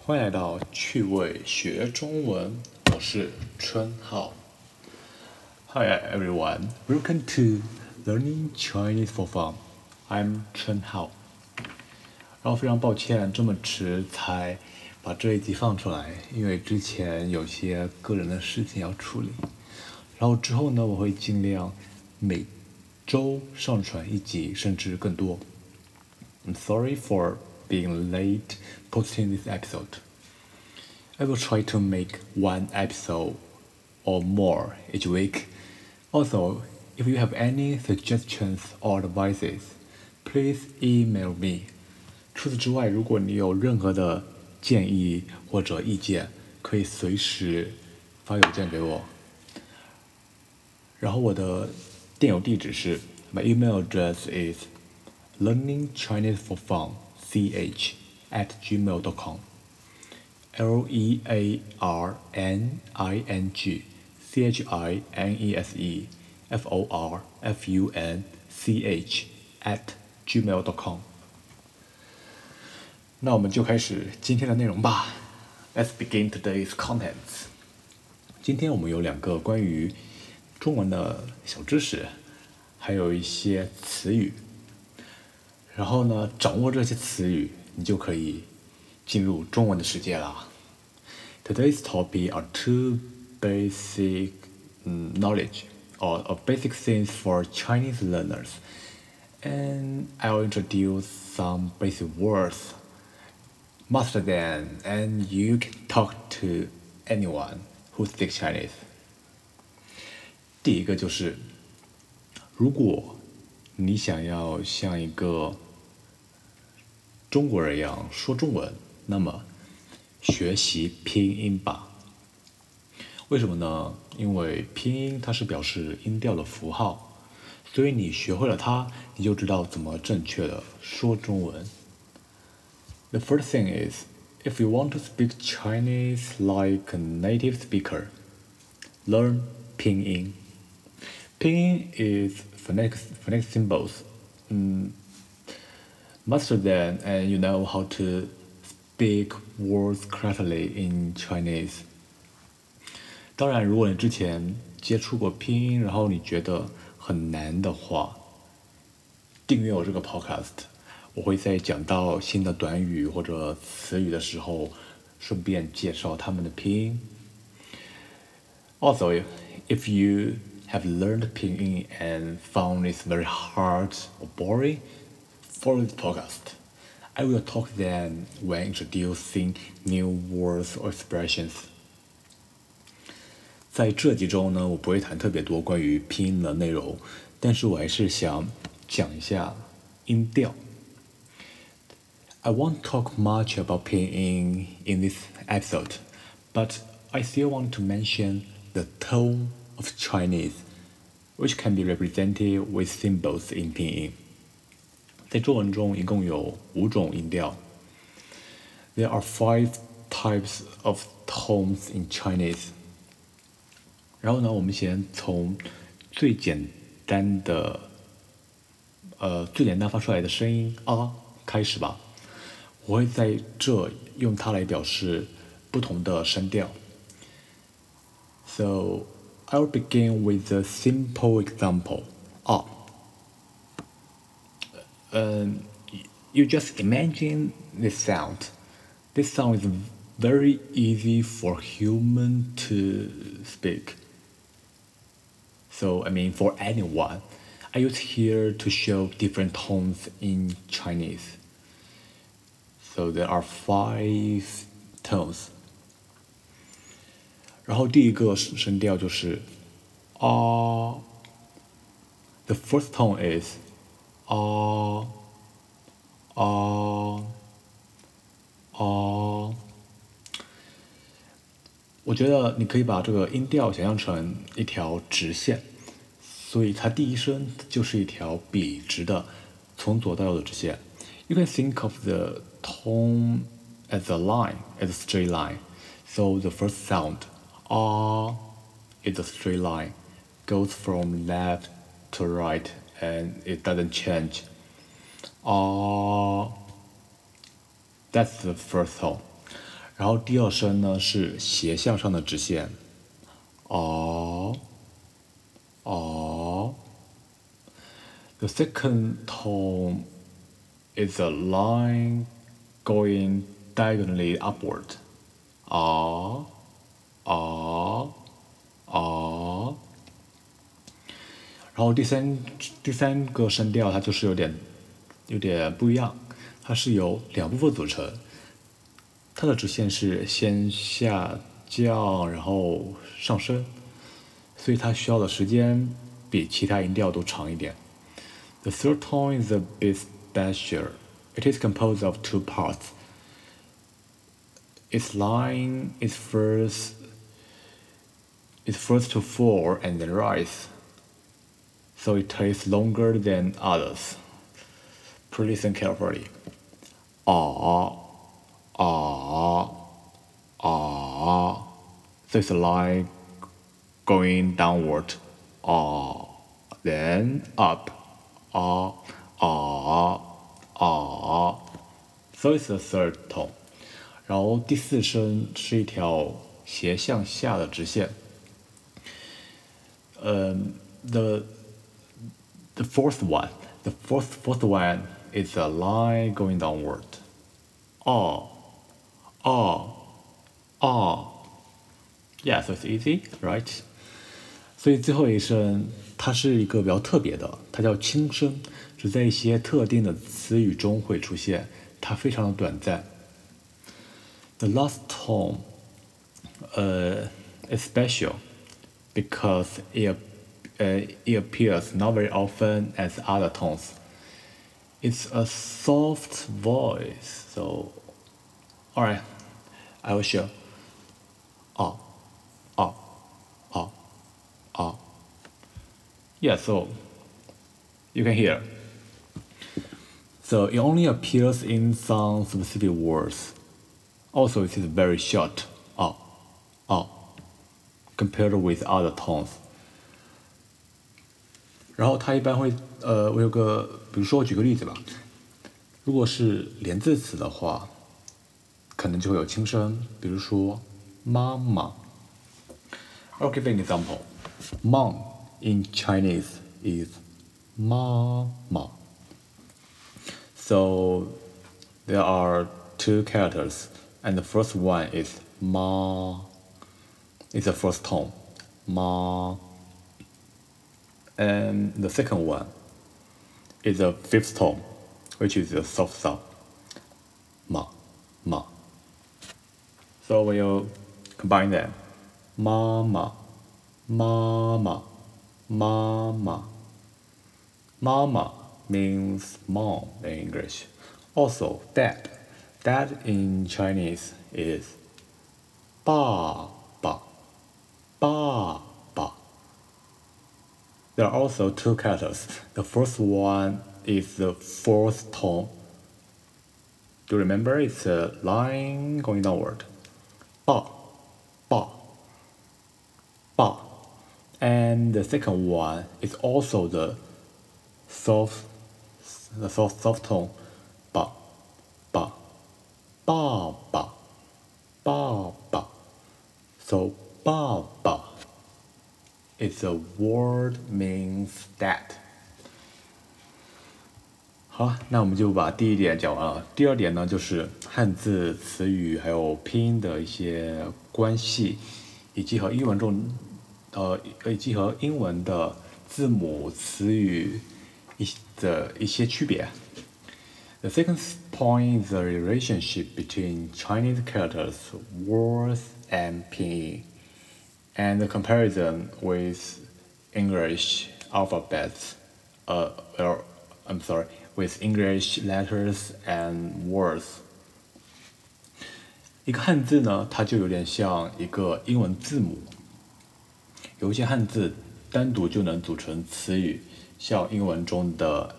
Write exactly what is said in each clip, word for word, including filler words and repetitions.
欢迎来到趣味学中文，我是春浩。Hi everyone, welcome to Learning Chinese for Fun. I'm 春浩。然后非常抱歉这么迟才把这一集放出来，因为之前有些个人的事情要处理。然后之后呢，我会尽量每周上传一集，甚至更多。I'm sorry for being late posting this episode. I will try to make one episode or more each week. Also, if you have any suggestions or advices, please email me. 除此之外，如果你有任何的建议或者意见，可以随时发邮件给我。然后我的电邮地址是 My email address is learningchineseforfunch at gmail dot com. L E A R N I N G C H I N E S E F O R F U N C H at gmail dot com. 那我们就开始今天的内容吧。Let's begin today's contents. 今天我们有两个关于中文的小知识，还有一些词语。然后呢，掌握这些词语，你就可以进入中文的世界啦。Today's topic are two basic um, knowledge or, or basic things for Chinese learners. And I'll introduce some basic words. Master them and you can talk to anyone who speaks Chinese. 第一个就是，如果你想要像一个中国人一样说中文，那么学习拼音吧。为什么呢？因为拼音它是表示音调的符号，所以你学会了它，你就知道怎么正确的说中文。The first thing is, if you want to speak Chinese like a native speaker, learn 拼音。拼音 is phonetic, phonetic symbols. Mm, master them and you know how to speak words correctly in Chinese. 当然，如果你之前接触过拼音，然后你觉得很难的话，订阅我这个 podcast， 我会在讲到新的短语或者词语的时候，顺便介绍它们的拼音。Also, if you have learned 拼音 and found it very hard or boring, follow this podcast. I will talk then when introducing new words or expressions. 在这集中呢，我不会谈特别多关于拼音的内容，但是我还是想讲一下音调。I won't talk much about 拼音 in this episode, but I still want to mention the tone of Chinese, which can be represented with symbols in 拼音。在中文中一共有五种音调。There are five types of tones in Chinese. 然后呢，我们先从最简单的，呃，最简单发出来的声音啊开始吧。我会在这用它来表示不同的声调。So I'll begin with a simple example. 啊。Um, you just imagine this sound. This sound is very easy for human to speak. So, I mean, for anyone. I use here to show different tones in Chinese. So there are five tones. 然后第一个声调就是啊。The first tone is 啊啊啊。我觉得你可以把这个音调想象成一条直线，所以它第一声就是一条笔直的，从左到右的直线。You can think of the tone as a line, as a straight line. So the first sound, ah, is a straight line, goes from left to right, and it doesn't change. Ah, that's the first tone. 然后第二声呢是斜向上的直线，哦哦。The second tone is a line going diagonally upward, 啊啊啊。然后第三第三个声调它就是有点有点不一样，它是由两部分组成。它的直线是先下降，然后上升，所以它需要的时间比其他音调都长一点。The third tone is a bit special. It is composed of two parts. Its line is first is first to fall and then rise, so it takes longer than others. Please listen carefully. Ah, ah, ah. So it's a line going downward. Ah, then up. Ah, ah, ah. So it's the third tone. 然后第四声是一条斜向下的直线。嗯、um,，the the fourth one, the fourth fourth one is a line going downward. Ah, ah, ah. Yeah, so it's easy, right? 所以最后一声它是一个比较特别的，它叫轻声，只在一些特定的词语中会出现，它非常的短暂。The last tone, uh, is special because it, uh, it appears not very often as other tones. It's a soft voice, so, alright, I will show. Ah, ah, ah, ah. Yeah, so you can hear. So it only appears in some specific words. Also, it is very short, ah, ah, compared with other tones. 然后它一般会，呃，我有个，比如说我举个例子吧，如果是连字词的话，可能就会有轻声，比如说妈妈。I'll give an example. Mom in Chinese is 妈妈。So there are two characters, and the first one is 妈 is the first tone, 妈. And the second one is the fifth tone, which is the soft sound, 妈 ma. So when you combine them, 妈妈 mama, mama. Mama means mom in English. Also, dad. Dad in Chinese is 爸爸 爸爸. There are also two characters. The first one is the fourth tone. Do you remember? It's a line going downward. 爸爸爸. And the second one is also the soft, the soft, soft tone, 爸爸爸爸爸爸. So 爸爸 is a word means dad. 好，那我们就把第一点讲完了。第二点呢，就是汉字词语还有拼音的一些关系，以及和英文中，呃，以及和英文的字母词语一的一些区别。The second point is the relationship between Chinese characters, words, and pinyin, and the comparison with English alphabets. Uh, or, I'm sorry, with English letters and words. 一个汉字呢，它就有点像一个英文字母。有一些汉字单独就能组成词语，像英文中的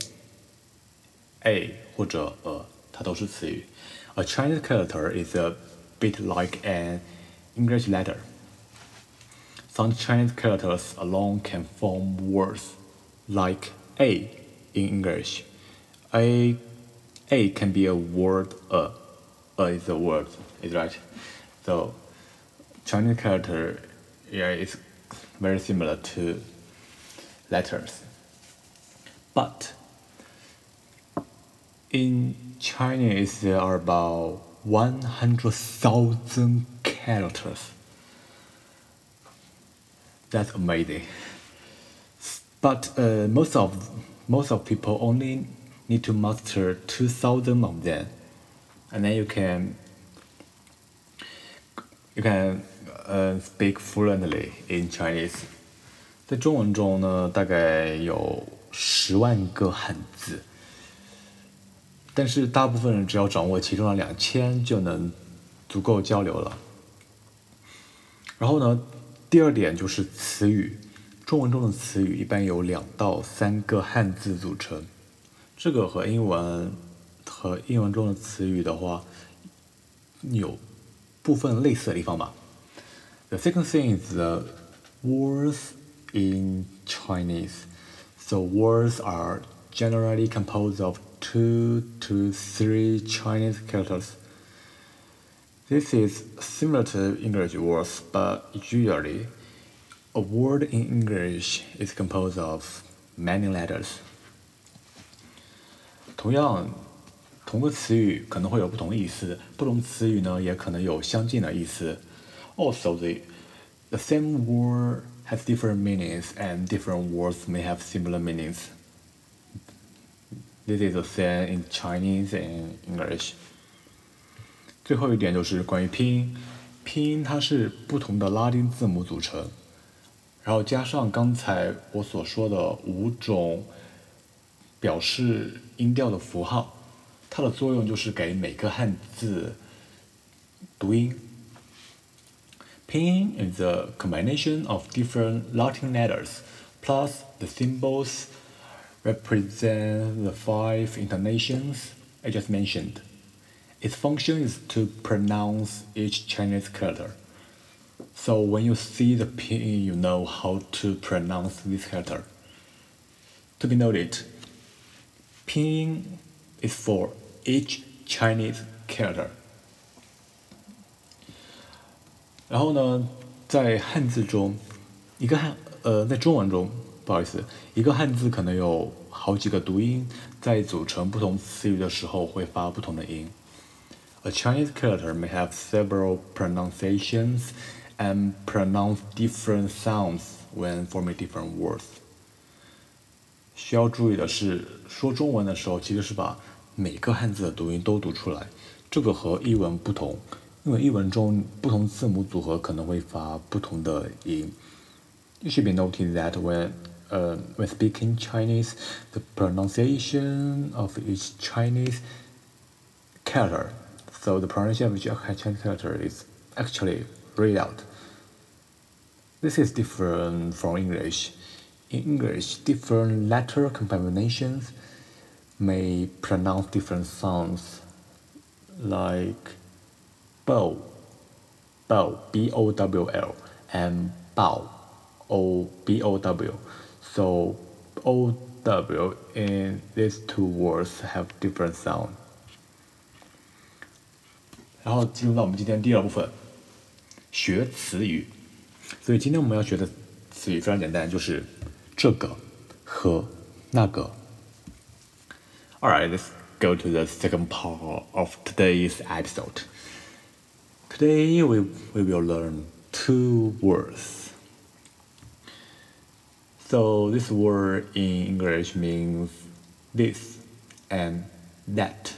a、a 或者 a， 它都是词语。A Chinese character is a bit like an English letter. Some Chinese characters alone can form words, like a in English. A, a can be a word a, uh, is a word, is right. So Chinese character, yeah, is very similar to letters. But in Chinese, there are about one hundred thousand characters. That's amazing. But uh, most of most of people only need to master two thousand of them, and then you can you can uh, speak fluently in Chinese. 在中文中呢，大概有十万个汉字，但是大部分人只要掌握其中的两千就能足够交流了。然后呢，第二点就是词语，中文中的词语一般由两到三个汉字组成，这个和英文和英文中的词语的话有部分类似的地方吧。The second thing is the words in Chinese. So words are generally composed of two to three Chinese characters. This is similar to English words, but usually a word in English is composed of many letters. 同样，同个词语可能会有不同的意思，不同词语呢也可能有相近的意思。Also, the the same word has different meanings, and different words may have similar meanings. This is the same in Chinese and English. 最后一点就是关于拼音，拼音它是不同的拉丁字母组成，然后加上刚才我所说的五种表示音调的符号，它的作用就是给每个汉字读音。拼音 is a combination of different Latin letters, plus the symbols represent the five intonations I just mentioned. Its function is to pronounce each Chinese character. So when you see the pinyin, you know how to pronounce this character. To be noted, pinyin is for each Chinese character. 然后呢，在汉字中，一个汉呃，在中文中，不好意思，一个汉字可能有好几个读音，在组成不同词语的时候会发不同的音。A Chinese character may have several pronunciations and pronounce different sounds when forming different words. 需要注意的是，说中文的时候其实是把每个汉字的读音都读出来，这个和译文不同，因为译文中不同字母组合可能会发不同的音。It should be noted that when uh, when speaking Chinese, the pronunciation of each Chinese character, so the pronunciation of each Chinese character is actually read out. This is different from English. In English, different letter combinations may pronounce different sounds, like bow, bow, B O W L, and bow, O B O W. So O W in these two words have different sound. 然后进入到我们今天第二部分，学词语。所以今天我们要学的词语非常简单，就是这个和那个。Alright, let's go to the second part of today's episode. Today we, we will learn two words. So this word in English means this and that.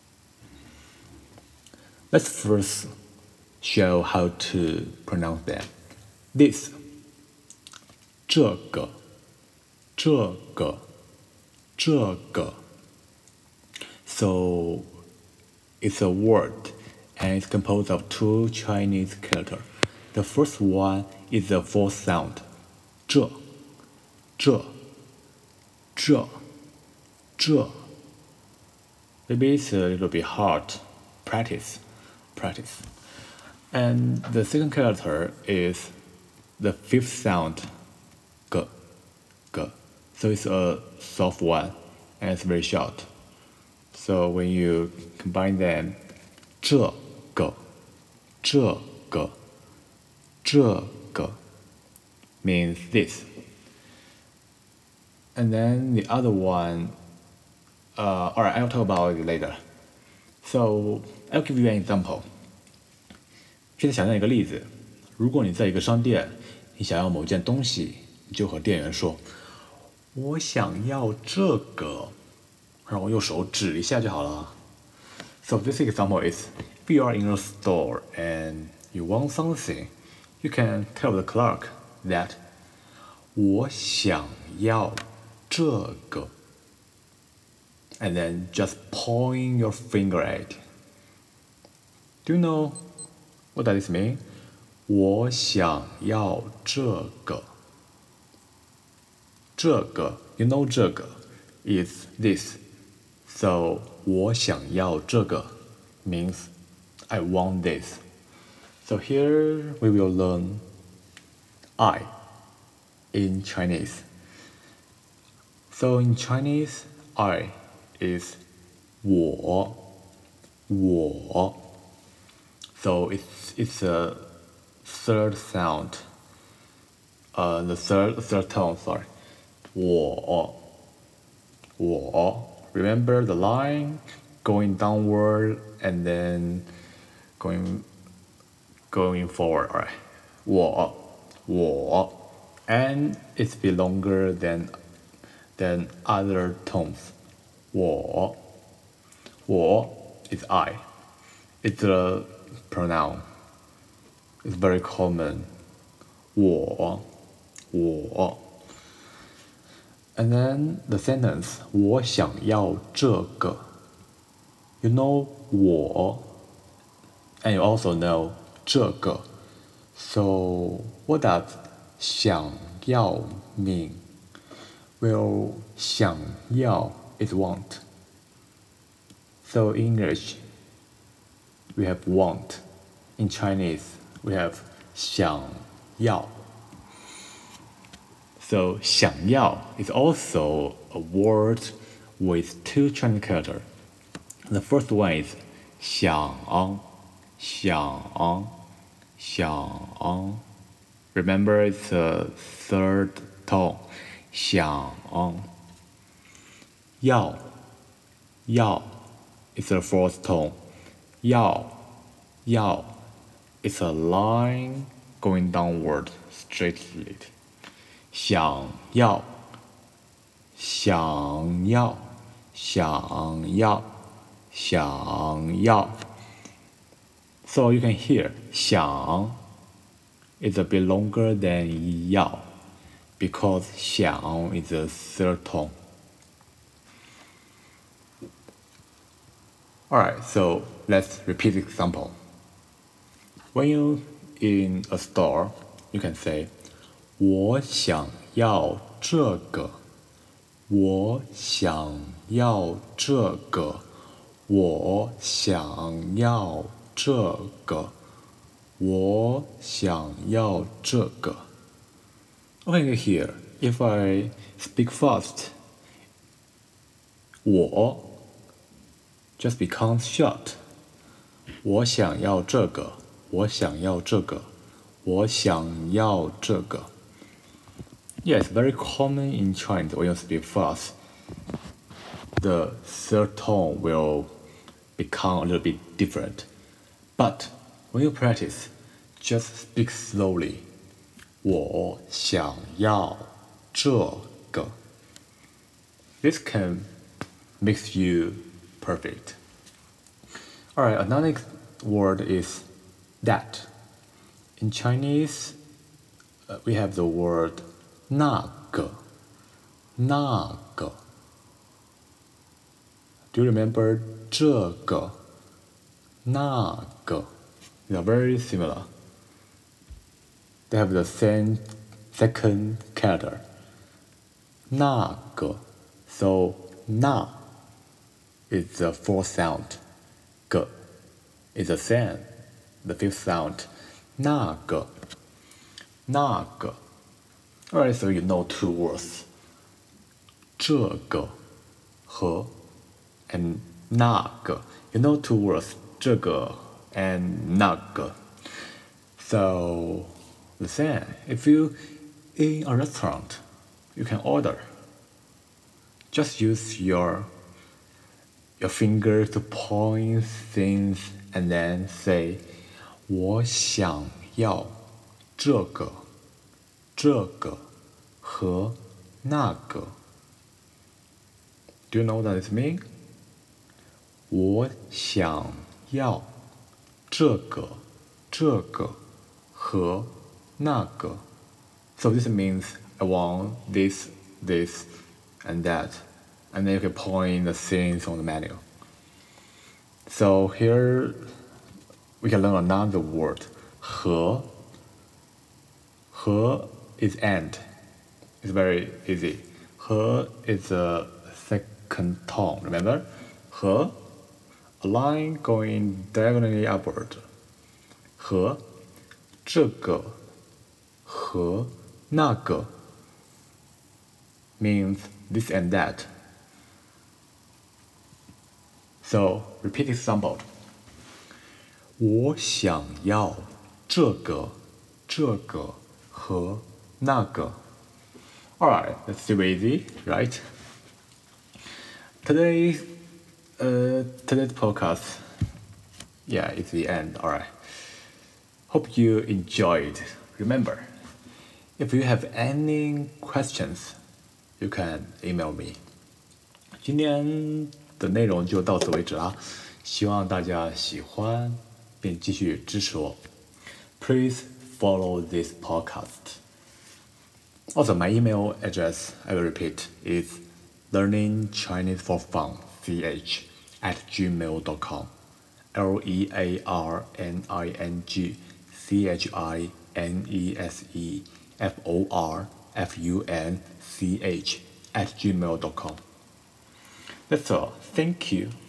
Let's first show how to pronounce them. This, 这个，这个，这个。So it's a word and it's composed of two Chinese characters. The first one is the fourth sound, 这，这，这，这. Maybe it's a little bit hard. Practice, practice. And the second character is the fifth sound, 个，个. So it's a soft one and it's very short. So when you combine them, 这个，这个，这个 means this. And then the other one, uh, alright, I'll talk about it later. So I'll give you an example. 现在想象一个例子，如果你在一个商店，你想要某件东西，你就和店员说：“我想要这个。”然后用手指一下就好了。So this example is, if you are in a store and you want something, you can tell the clerk that 我想要这个 and then just point your finger at it. Do you know what does this mean? 我想要这个。这个 you know 这个 is this. So 我想要这个 means I want this. So here we will learn I in Chinese. So in Chinese, I is 我我 So it's it's a third sound. Uh, the third third tone. Sorry, 我我 Remember the line going downward and then going going forward. Alright, 我我 and it's be longer than than other tones. 我我 is I. It's a pronoun. It's very common. 我我 And then the sentence 我想要这个 You know 我 and you also know 这个 So what does 想要 mean? Well, 想要 is want. So in English we have want. In Chinese we have 想要 So 想要 is also a word with two Chinese characters. The first one is 想想想 Remember it's a third tone. 想要要 is a fourth tone. 要要 is a line going downward straightly. 想要想要想要想要 So you can hear 想 is a bit longer than 要 because 想 is a third tone. Alright, so let's repeat the example. When you're in a store, you can say 我想要这个我想要这个我想要这个我想要这个 Okay, here, if I speak fast, 我 just becomes short. 我想要这个我想要这个我想要这个 Yes, very common in Chinese when you speak fast. The third tone will become a little bit different. But when you practice, just speak slowly. 我想要这个 This can make you perfect. Alright, another word is that. In Chinese, uh, we have the word 那个那个 Do you remember 这个那个 They are very similar. They have the same second character. 那个 So 那 is the fourth sound. 个 is the same, the fifth sound. 那个那个 Alright, so you know two words. 这个和 and 那个 You know two words. 这个 and 那个。So the same. If you in a restaurant, you can order. Just use your your finger to point things and then say 我想要这个这个和那个。Do you know what this means? 我想要这个这个和那个。So this means I want this, this, and that. And then you can point the things on the menu. So here we can learn another word. 和和 is and. It's very easy. 和 is a second tone, remember? 和 a line going diagonally upward. 和这个和那个 means this and that. So repeat this example. 我想要这个这个和那个。Alright, that's super easy, right? Today, uh, today's podcast, yeah, it's the end. Alright. Hope you enjoyed. Remember, if you have any questions, you can email me. 今天的内容就到此为止啦，希望大家喜欢并继续支持我。Please follow this podcast. Also, my email address, I will repeat, is learningchineseforfunch at gmail dot com. L E A R N I N G C H I N E S E F O R F U N C H at gmail dot com. That's all. Thank you.